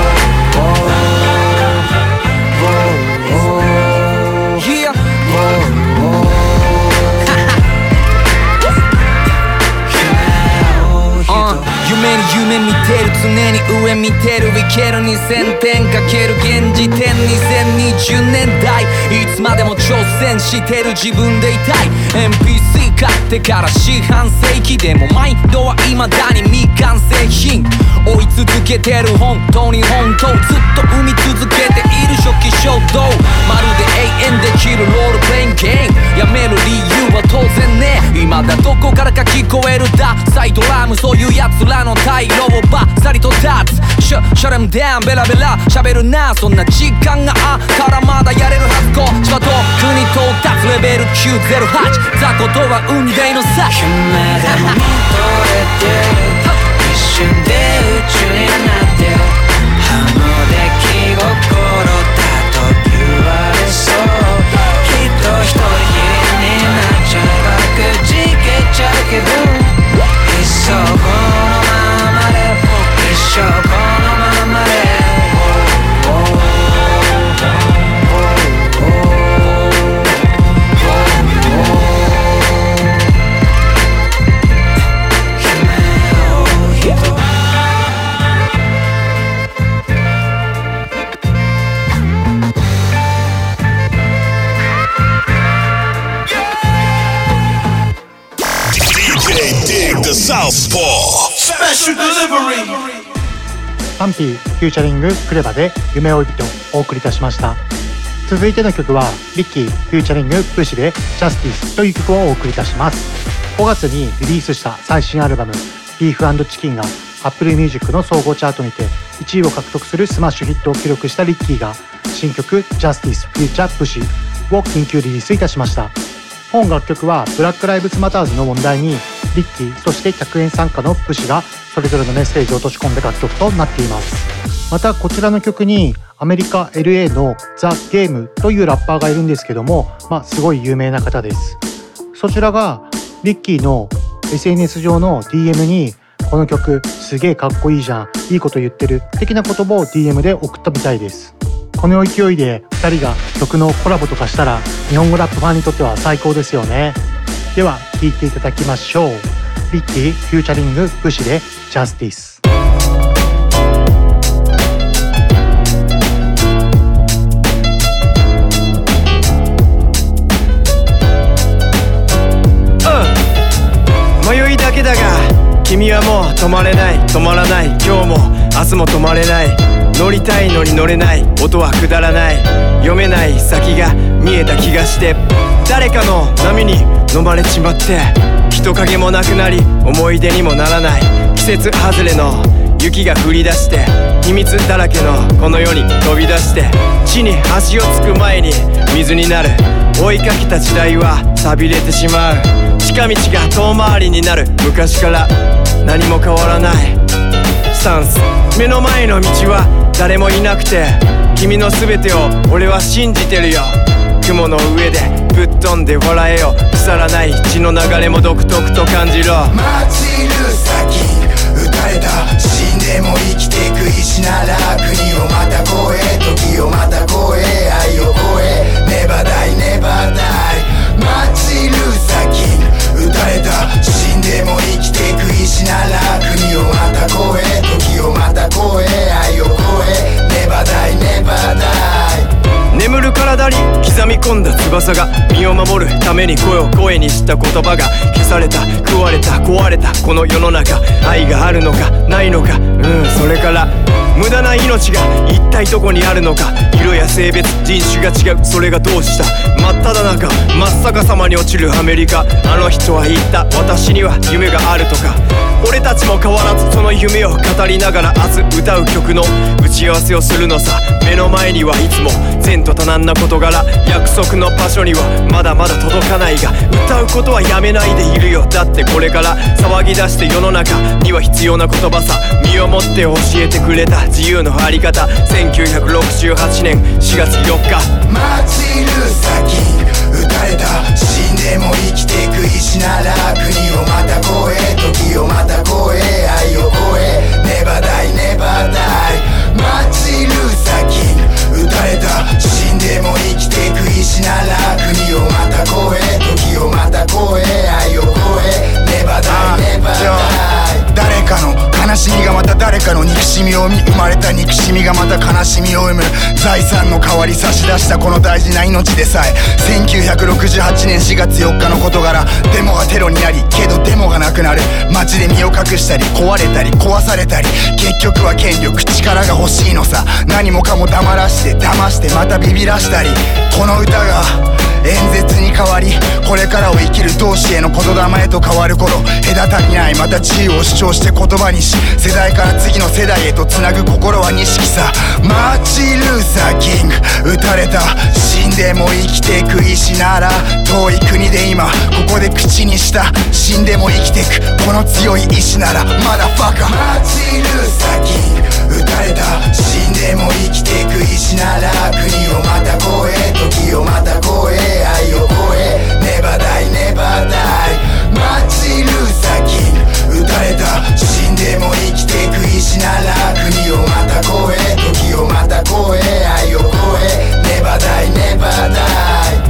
夢見てる常に上見てるいけるにせんてんかける現時点にせんにじゅうねんだいいつまでも挑戦してる自分でいたい。 エムピーシー 買ってから四半世紀でもマインドは未だに未完成品。追い続けてる本当に本当ずっと生み続けている初期衝動。まるで永遠できるロールプレインゲーム。やめる理由は当然ね。今だどこからか聞こえるダサイドラム。そういうやつらの退路をバッサリと立つ。シュシャレムダウンベラベラ喋るな。そんな時間があったらまだやれるはず。こっちは遠くに到達レベルきゅうぜろはち。雑魚とは運命の差。 夢でも見とれてる。一瞬で宇宙になってあの出来心だと言われそう。きっと一人きりになっちゃう。くじけちゃうけどいっそこのままで一生このままでサンピーフューチャリングクレバで夢追い人をお送りいたしました。続いての曲はリッキーフューチャリングプシでジャスティスという曲をお送りいたします。ごがつにリリースした最新アルバムビーフ&チキンが Apple Music の総合チャートにていちいを獲得するスマッシュヒットを記録したリッキーが新曲ジャスティスフューチャープシを緊急リリースいたしました。本楽曲はブラックライブズマターズの問題にリッキーそして客演参加のプシがそれぞれのメッセージを落とし込んだ楽曲となっています。またこちらの曲にアメリカ エルエー のザ・ゲームというラッパーがいるんですけども、まあ、すごい有名な方です。そちらがリッキーの エスエヌエス 上の ディーエム にこの曲すげえかっこいいじゃん、いいこと言ってる的な言葉を ディーエム で送ったみたいです。この勢いでふたりが曲のコラボとかしたら日本語ラップファンにとっては最高ですよね。では聴いていただきましょう。リッキーフューチャリングプシでジャスティス。 迷いだけだが君はもう止まれない止まらない。今日も明日も止まれない。乗りたいのに乗れない。音はくだらない。読めない先が見えた気がして誰かの波に飲まれちまって人影もなくなり思い出にもならない。季節外れの雪が降り出して秘密だらけのこの世に飛び出して地に足をつく前に水になる。追いかけた時代は寂れてしまう。近道が遠回りになる。昔から何も変わらないスタンス。目の前の道は誰もいなくて君の全てを俺は信じてるよ。雲の上でぶっ飛んで笑えよ。腐らない血の流れも独特と感じろ。 待ちる先撃たれた死んでも生きてく石なら国をまた越え時をまた越え愛を超えネバダイネバダイ。待ちる先撃たれた死んでも生きてく石なら国をまた越え時をまた越え愛を超えネバダイネバダイ。 眠る体に刻み込んだ翼が身を守るために声を声にした言葉が消された食われた壊れたこの世の中。愛があるのかないのかうんそれから無駄な命が一体どこにあるのか。色や性別人種が違う、それがどうした。真っ只中真っ逆さまに落ちるアメリカ。あの人は言った、私には夢があるとか。俺たちも変わらずその夢を語りながら明日歌う曲の打ち合わせをするのさ。目の前にはいつも前途多難な事柄、約束の場所にはまだまだ届かないが、歌うことはやめないでいるよ。だってこれから騒ぎ出して世の中には必要な言葉さ。身をもって教えてくれた自由のあり方。せんきゅうひゃくろくじゅうはちねんしがつよっか、 マーチン・ルーサー・キング撃たれた。死んでも生きてく意志なら国をまた超え、時をまた超え、愛を超え、ネバダイネバダイ。マーチン・ルーサー・キング撃たれた。死んでも生きてく意志なら国をまた超え、時をまた超え、愛を超え、ネバダイネバダイ。誰かの悲しみがまた誰かの憎しみを生み、生まれた憎しみがまた悲しみを生む。財産の代わり差し出したこの大事な命でさえ、せんきゅうひゃくろくじゅうはちねんしがつよっかの事柄。デモがテロになり、けどデモがなくなる。街で身を隠したり壊れたり壊されたり、結局は権力力が欲しいのさ。何もかも黙らして騙してまたビビらしたり。この歌が演説に変わり、これからを生きる同志への言霊へと変わる頃、隔たりないまた自由を主張して言葉にし、世代から次の世代へとつなぐ心は錦さ。マーチン・ルーサー・キング撃たれた。死んでも生きてく意志なら遠い国で今ここで口にした。死んでも生きてくこの強い意志ならまだファカ。マーチン・ルーサー・キング撃たれた。死んでも生きてく意志なら国をまた超え、時をまた超え、愛を超え、ネバダイネバダイ。マーチン・ルーサー・キング撃たれた。死んでも生きてく意志なら国をまた超え、時をまた超え、愛を超え、ネバダイネバダイ。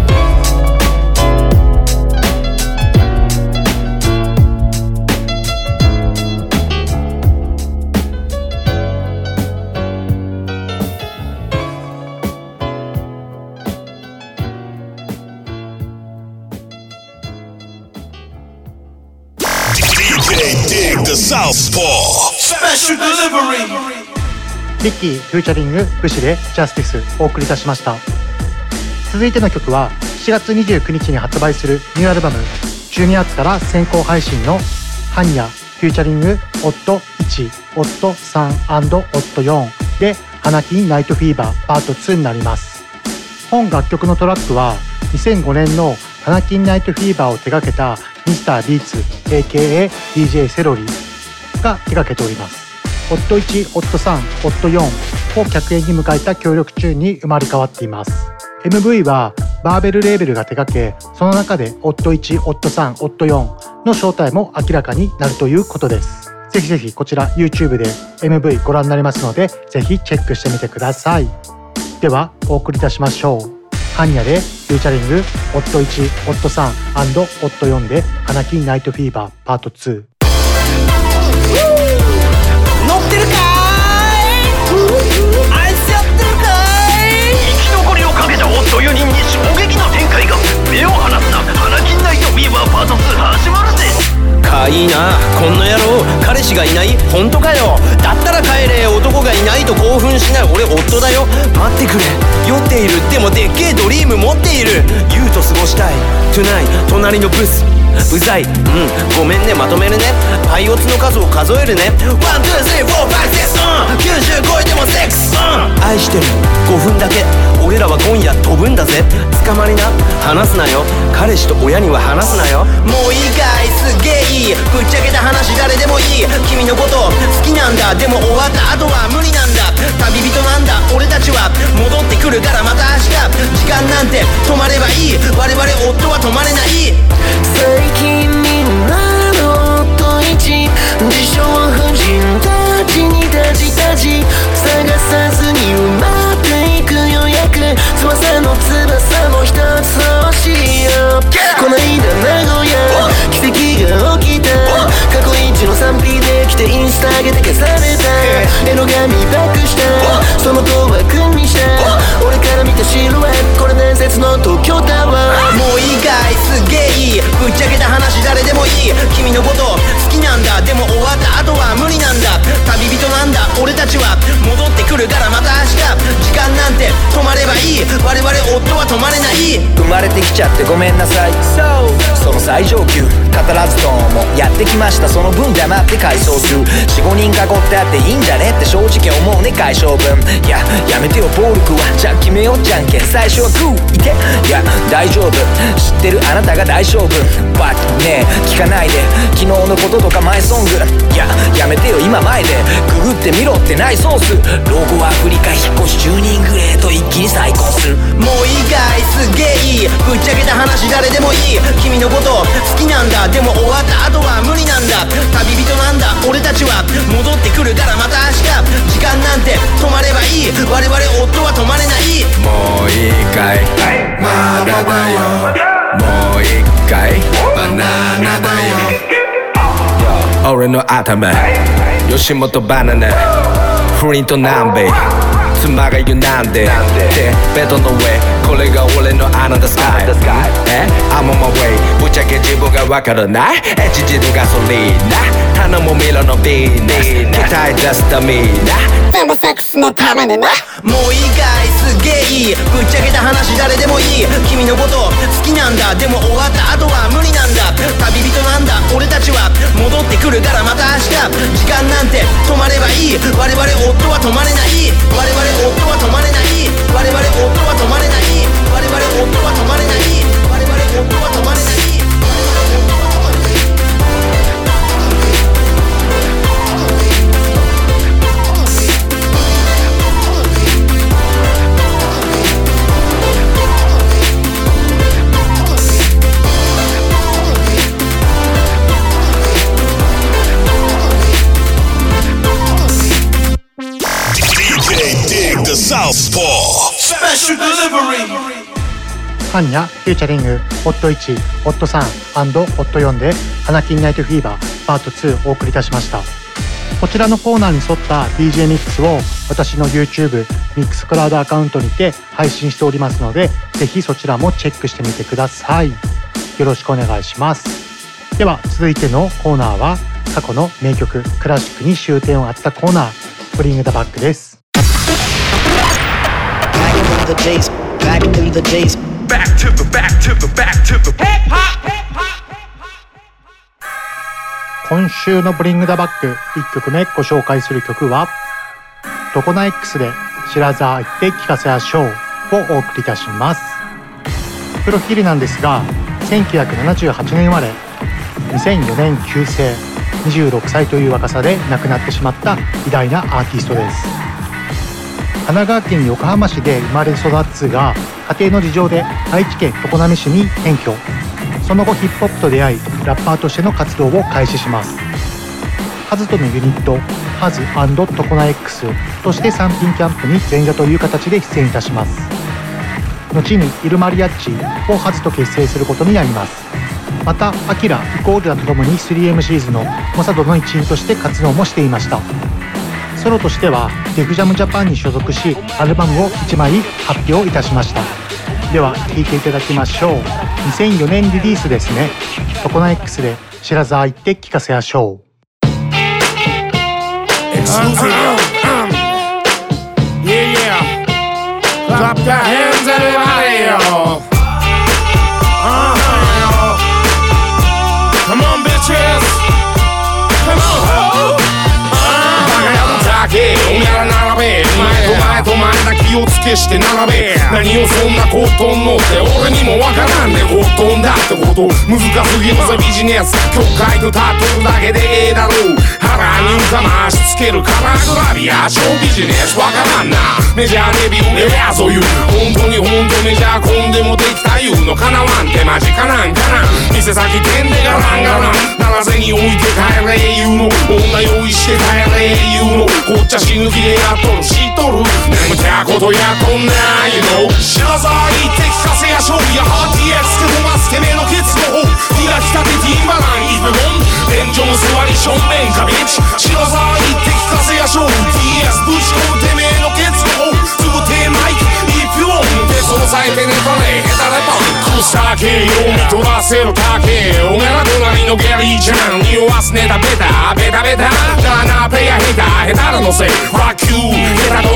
リッキーフューチャリングブシでジャスティスお送りいたしました。続いての曲はしちがつにじゅうくにちに発売するニューアルバムじゅうにがつから先行配信のハンニャフューチャリングオットいち、オットさん&オットよんで花金ナイトフィーバーパートにになります。本楽曲のトラックはにせんごねんの花金ナイトフィーバーを手掛けたミスタービーツ エーケーエー ディージェー セロリが手掛けております。オットいち、オットさん、オットよんを客演に迎えた協力チューンに生まれ変わっています。エムブイ はバーベルレーベルが手掛け、その中でオットいち、オットさん、オットよんの正体も明らかになるということです。ぜひぜひこちら YouTube で エムブイ ご覧になれますので、ぜひチェックしてみてください。ではお送りいたしましょう。ハンニャでフューチャリングオットいち、オットさん&オットよんで花金ナイトフィーバーパートに。 乗ってるかい、あいつやってるかい。 生き残りをかけたオットよにんに衝撃の展開が。目を離すな、花金ナイトフィーバーパートに始まるぜ。 かいいなこんな野郎、彼氏がいない？本当かよ。だったら帰れ、男がいないと興奮しない。俺夫だよ。待ってくれ、酔っている。でもでっけえドリーム持っている。ユウと過ごしたい Tonight 隣のブスうざい。うんごめんね、まとめるね。パイオツの数を数えるね。ワン、ツー、スリー、フォー、ファイブ、シックス、うんきゅうじゅう超えてもセックス、うん愛してるごふんだけ。俺らは今夜飛ぶんだぜ。捕まりな、話すなよ。彼氏と親には話すなよ。もういいかい、すげえいい。ぶっちゃけた話誰でもいい。君のこと好きなんだ。でも終わった後は無理なんだ。旅人なんだ俺たちは。戻ってくるからまた明日。時間なんて止まればいい。我々夫は止まれない。 最近みんなのオットいち、自称婦人たちにタジタジ探さずに埋まっていく予約。翼の翼も一つ欲しいよ。こないだ名古屋奇跡が起きた。過去一の スリーピー で来てインスタ上げて消された。エロ髪バックしたその塔は君にした。俺から見たシルエット、これ伝説の東京タワー。 もういいかい、すげえいい。ぶっちゃけた話誰でもいい。君のこと好きなんだ。でも終わった後は無理なんだ。旅人なんだ俺たちは。戻生まれてきちゃってごめんなさい。その最上級語らずともやってきました。その分黙って回想する よんごにん囲ってあっていいんじゃねって正直思うね解消文。いややめてよ暴力はじゃあ決めようじゃんけん。最初はグーいていや大丈夫知ってるあなたが大勝負。バッねえ聞かないで昨日のこととかマイソング。いややめてよ今前でググってみろってないソース。老後アフリカ引っ越しじゅうにんグレーと一気に再婚する。 もういいかいすっげえいいぶっちゃけた話誰でもいい。君のこと好きなんだでも終わった後は無理なんだ。旅人なんだ俺たちは戻ってくるからまた明日。時間なんて止まればいい我々夫は止まれない。 もういいかいまだだよもう一回バナナだよ。俺の頭吉本バナナフリント南米妻が言うなんででベッドの上これが俺のアナザースカイえ I'm on my way ぶっちゃけ自分がわからないエッチ汁ガソリンな頼むミロのビーナス期待出すためなでもセックスのためにな。 もういいかいすっげえいいぶっちゃけた話誰でもいい。君のこと好きなんだでも終わった後は無理なんだ。旅人なんだ俺たちは戻ってくるからまた明日。時間なんて止まればいい我々夫は止まれない。我々夫は止まれない。我々夫は止まれない。我々夫は止まれない。我々夫は止まれない。 ハンニャフューチャリングオットいち、オットさん、オットよんで花金ナイトフィーバーパートツーお送りいたしました。こちらのコーナーに沿った ディージェー ミックスを私の YouTube ミックスクラウドアカウントにて配信しておりますので、ぜひそちらもチェックしてみてください。よろしくお願いします。では続いてのコーナーは過去の名曲クラシックに終点を当てたコーナーブリングダバックです。 Back to the days, back to the days, back to the back to the back to the hip hop, hip hop. 今週のブリングダバックいっきょくめご紹介する曲はトコナ X で知らざ行って聞かせやしょうをお送りいたします。プロフィールなんですがせんきゅうひゃくななじゅうはちねん生まれにせんよねん旧姓にじゅうろくさいという若さで亡くなってしまった偉大なアーティストです。神奈川県横浜市で生まれ育つが家庭の事情で愛知県常滑市に転居。その後ヒップホップと出会いラッパーとしての活動を開始します。カズとのユニットハズ&トコナ X としてサンピンキャンプに前座という形で出演いたします。後にイルマリアッチをハズと結成することになります。またアキライコールラとともに スリーエムシーズ のモサドの一員として活動もしていました。ソロとしてはデフジャムジャパンに所属しアルバムをいちまい発表いたしました。では聴いていただきましょう。にせんよねんリリースですね。トコナ X で知らざ行って聞かせやしょう。 Yeah, yeah. Clap your hands, everybody, yo. Uh-huh, yo. Come on, bitches. Come on, ho. おめら並べ前と前と前だ気をつけして並べ何をそんなコットンのって俺にもわからんねコットンだってこと難すぎるぜビジネス曲書いてタトゥーだけでええだろう腹に浮かましつけるカラーグラビアショービジネスわからんなメジャーデビューエアそういう本当に本当メジャーコンでもできた言うのかなわんってマジかなんかな店先店でガランガランならぜに置いて帰れ言うの女用意して帰れ言うのこっちゃ死ぬ気でやっとる知っとる眠たことやっとんない you know 知らざいって聞かせやしょうやハーティーエスけどますてめえのケツの方火が来たてティーバランイブボン天井の座り正面かビッチ知らざいって聞かせやしょう ティーエス ぶち込むてめえのケツの方すぐ手マイク一票手相さえてねとねヘタレパン草系を見取らせるだけおめら隣のゲリーちゃん匂わすネタベタベタベタだなペアヘタヘタらのせい Fuck you ヘタとは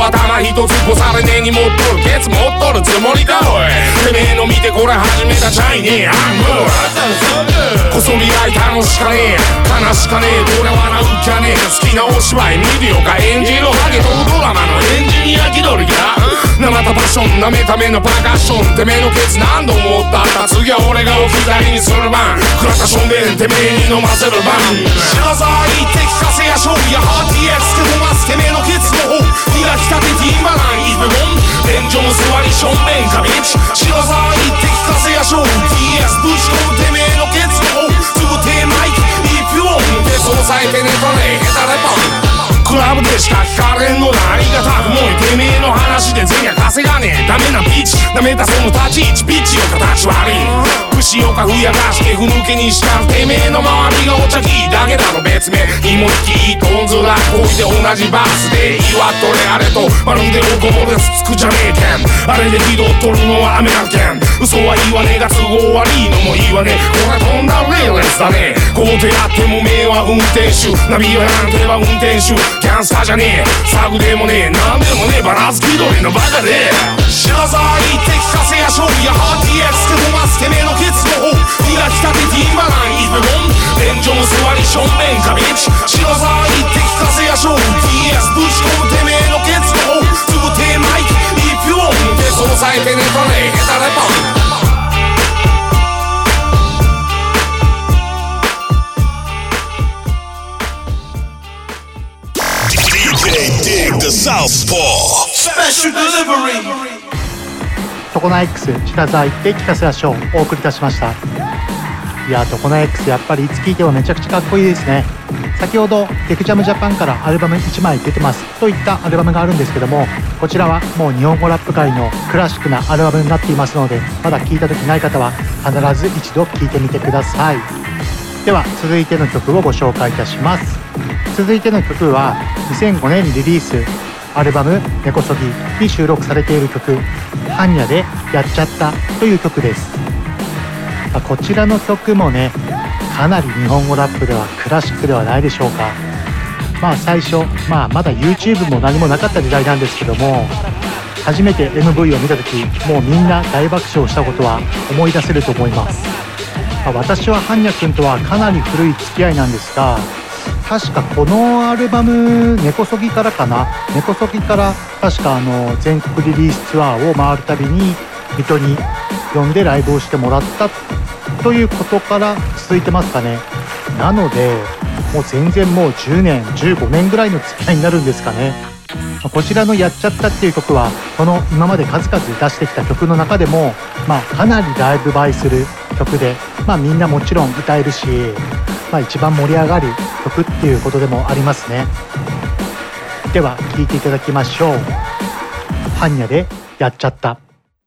頭一つ越されねえに持っとるケツ持っとるつもりかおい。てめえの見てこれ始めたチャイニーアンムーこそり合い楽しかねえ悲しかねえこれ笑うきゃねえ好きなお芝居見るよか演じるハゲとドラマのエンジニア気取りかなまたパッションなめためのパーカッションてめえのケツ何度もったった次は俺が置き去りにする番食らったしょんべんてめえに飲ませる番知らざいって聞かせや勝利やハーティーエックスけどますてめえのケツの方磨きたてティーンバランイブボン天井の座りしょんべんかビッチ知らざいって聞かせや勝利 ティーエス ぶち込むてめえのケツの方すぐテーマイクイピュオン手相さえてねとねヘタレポンクラブでしか聞かれんのだありがたくもいてめえの話で銭は稼がねえダメなビッチダメだその立ち位置ビッチよ形悪い串よかふやかしてふぬけにしたてめえの周りがお茶きだけだろ別名芋引きトンズラこいで同じバースで祝っとれあれとまるでおこぼれつつくじゃねえけんあれで気取っとるのは雨なけん嘘は言わねえが都合悪いのも言わねえこれ飛んだレーレスだねこうてやっても名は運転手ナビはなんてば運転手キャンサーじゃねえサグでもねえなんでもねえバランス気取りのバカで知らざいって聞かせや勝利やハーティーエックスけどますてめえのケツの方磨きたてティーンバランイブボン天井の座りしょんべんかビッチ知らざいって聞かせや勝利 ティーエス ぶち込むてめえのケツの方すぐテーマイクイピュオン手相さえてねとねヘタレポントコナ X 知らざいって聞かせやしょうお送りいたしました。いやトコナ X やっぱりいつ聴いてもめちゃくちゃかっこいいですね。先ほどテクジャムジャパンからアルバムいちまい出てますといったアルバムがあるんですけどもこちらはもう日本語ラップ界のクラシックなアルバムになっていますのでまだ聴いた時ない方は必ず一度聴いてみてください。では続いての曲をご紹介いたします。続いての曲はにせんごねんリリースアルバム根こそぎに収録されている曲ハンニャでやっちゃったという曲です。こちらの曲もねかなり日本語ラップではクラシックではないでしょうか。まあ最初、まあ、まだ YouTube も何もなかった時代なんですけども初めて エムブイ を見た時もうみんな大爆笑したことは思い出せると思います。まあ、私はハンニャ君とはかなり古い付き合いなんですが確かこのアルバム根こそぎからかな根こそぎから確かあの全国リリースツアーを回るたびに水戸に呼んでライブをしてもらったということから続いてますかね。なのでもう全然もうじゅうねんじゅうごねんぐらいの付き合いになるんですかね。こちらのやっちゃったっていう曲はこの今まで数々出してきた曲の中でも、まあ、かなりライブ映えする曲で、まあ、みんなもちろん歌えるし、まあ、一番盛り上がる曲っていうことでもありますね。では聴いていただきましょう。ハンニャでやっちゃった。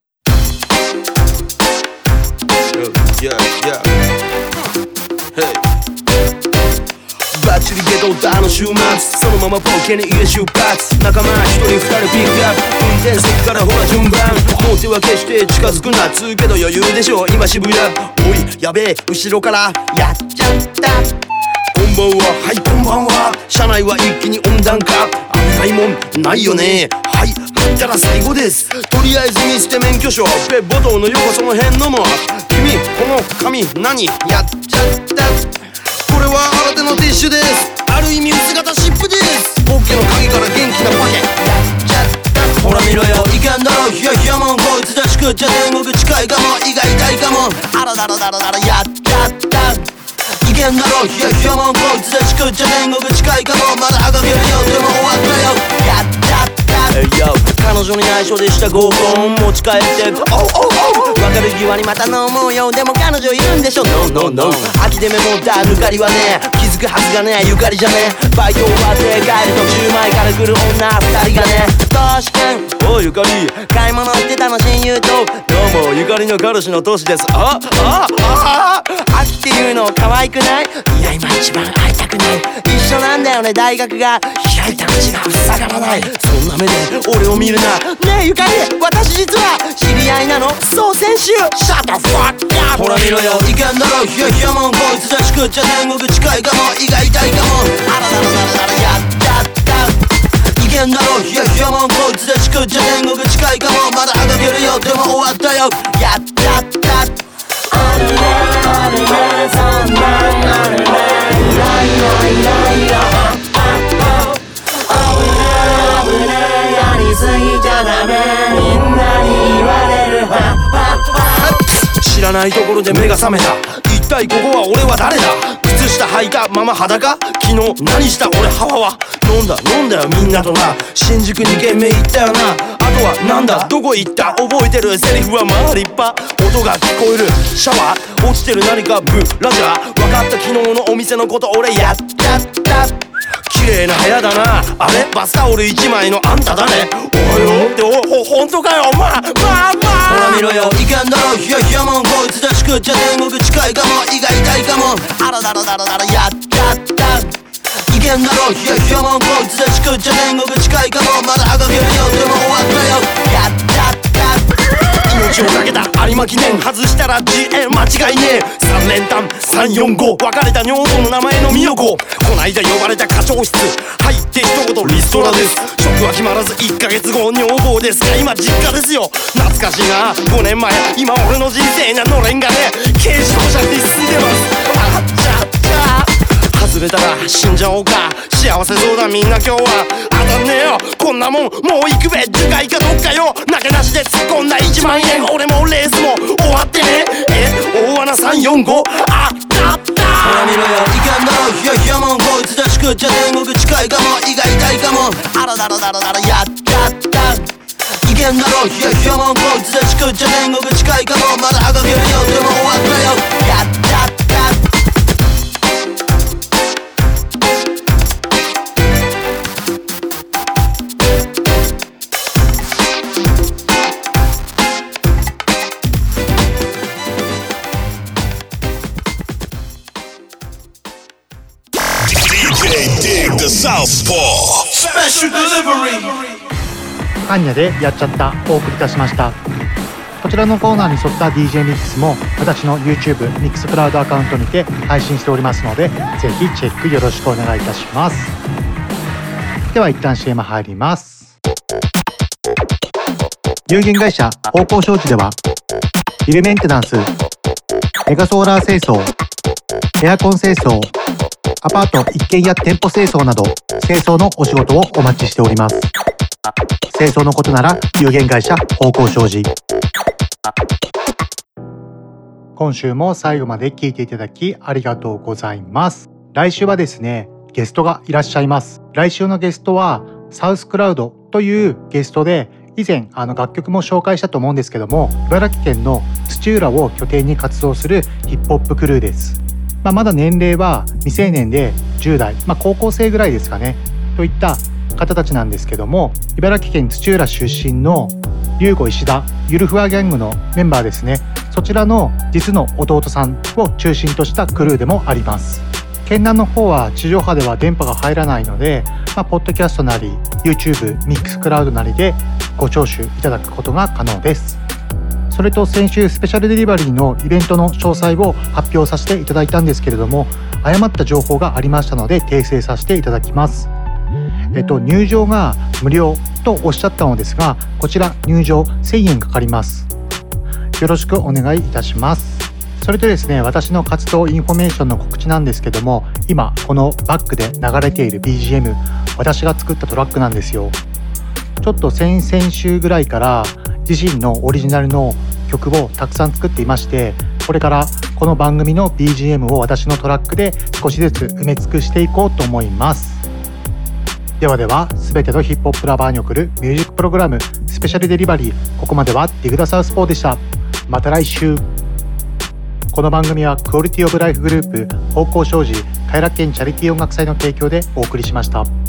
Yeah, yeah. Hey. バッチリゲトったあの週末そのままポケに家出発仲間一人二人ピックアップ運転席からほら順番もう手は決して近づくなつうけど余裕でしょ今渋谷おいやべえ後ろからやっちゃったこんばんははいこんばんは車内は一気に温暖化危ないもんないよねはい入ったら最後ですとりあえず見捨て免許証ペッボトの横その辺のも君この紙何やっちゃったこれは新手のティッシュですある意味薄型湿布ですポッケの鍵から元気なパケやっちゃったほら見ろよいけんだろヒヤヒヤもんこいつだし食っちゃ天国近いかも胃が痛いかもあらだらだらだらやっちゃったいけんだろヒヤヒヤもんこいつだし食っちゃ天国近いかもまだ赤毛によっても終わったよやっちゃったHey yo 彼女に内緒でした合コン持ち帰っておうおうおう別れ際にまた飲もうよでも彼女いるんでしょ No no no 秋でメモった抜かりはね気づくはずがねゆかりじゃねバイト終わって帰る途中前から来る女二人がね確かにおうゆかり買い物行ってたの親友とどうもゆかりの彼氏のトシですああああ秋っていうの可愛くないいや今一番会いたくない一緒なんだよね大学が開いた道が塞がらないそんな目で俺を見るなねえゆかり私実は知り合いなのそう先週シャットファッカーほら見ろよいけんだろヒヤヒヤもんこいつだし食っちゃ天国近いかも胃が痛いかもあらだらだらだらやっちゃったいけんだろヒヤヒヤもんこいつ作っちゃ天国近いかもまだあがけるよでも終わったよやったったあるねあるねそんなんあるねイライライライラあ危ね危ねやりすぎちゃダメみんなに言われるは知らないところで目が覚めた一体ここは俺は誰だ靴下履いたまま裸昨日何した俺ハワは飲んだ飲んだよみんなとな新宿に軒目行ったよなあとはなんだどこ行った覚えてるセリフはまあ立派音が聞こえるシャワー落ちてる何かブラジャー分かった昨日のお店のこと俺やったった綺麗な部屋だなあれバスタオル一枚のあんただねおはようっておほほんとかよまあまあまあほら見ろよいかんだろいやいやもんこいつだしくっちゃ天国近いかも胃が痛いかもあらだらだらだらやったったいけんだろいやいやもんこいつだしくっちゃ天国近いかもまだあがけるよでも終わったよやったった命をかけた有馬記念外したらじえ間違いねえさん連単さんよんご別れた女房の名前の美代子こないだ呼ばれた課長室入って一言リストラです職は決まらずいっかげつご女房ですが今実家ですよ懐かしいなごねんまえ今俺の人生にはのれんがね軽自動車に進んでますあっちゃっちゃ外れたら死んじゃおうか幸せそうだみんな今日は当たんねえよこんなもんもう行くべ樹海かどっかよ投げなしで突っ込んだいちまんえん俺もレースも終わってねえ大穴さんよんごあったったほら見ろよいかんだろいやいやもんこいつだしくっちゃ天国近いかも胃が痛いかもあらだらだらだらやったったいけんだろいやいやもんこいつだしくっちゃ天国近いかもまだあがけるよでも終わったよやったったアンニャでやっちゃったお送りいたしました。こちらのコーナーに沿った ディージェー ミックスも私の YouTube ミックスクラウドアカウントにて配信しておりますのでぜひチェックよろしくお願いいたします。では一旦 シーエム 入ります。有限会社方向商事ではビルメンテナンス、メガソーラー清掃、エアコン清掃、アパート一軒家店舗清掃など清掃のお仕事をお待ちしております。清掃のことなら有限会社方向商事。今週も最後まで聞いていただきありがとうございます。来週はですねゲストがいらっしゃいます。来週のゲストはサウスクラウドというゲストで以前あの楽曲も紹介したと思うんですけども茨城県の土浦を拠点に活動するヒップホップクルーです。まあ、まだ年齢は未成年でじゅう代、まあ、高校生ぐらいですかねといった方たちなんですけども茨城県土浦出身の龍吾石田ゆるふわギャングのメンバーですねそちらの実の弟さんを中心としたクルーでもあります。県南の方は地上波では電波が入らないので、まあ、ポッドキャストなり YouTube ミックスクラウドなりでご聴取いただくことが可能です。それと先週スペシャルデリバリーのイベントの詳細を発表させていただいたんですけれども誤った情報がありましたので訂正させていただきます。えっと、入場が無料とおっしゃったのですがこちら入場せんえんかかります。よろしくお願いいたします。それとですね私の活動インフォメーションの告知なんですけども今このバックで流れている ビージーエム 私が作ったトラックなんですよ。ちょっと先々週ぐらいから自身のオリジナルの曲をたくさん作っていましてこれからこの番組の ビージーエム を私のトラックで少しずつ埋め尽くしていこうと思います。ではでは全てのヒップホップラバーに送るミュージックプログラムスペシャルデリバリーここまではディグダサウスポーでした。また来週。この番組はクオリティオブライフグループ方向商事偕楽園チャリティー音楽祭の提供でお送りしました。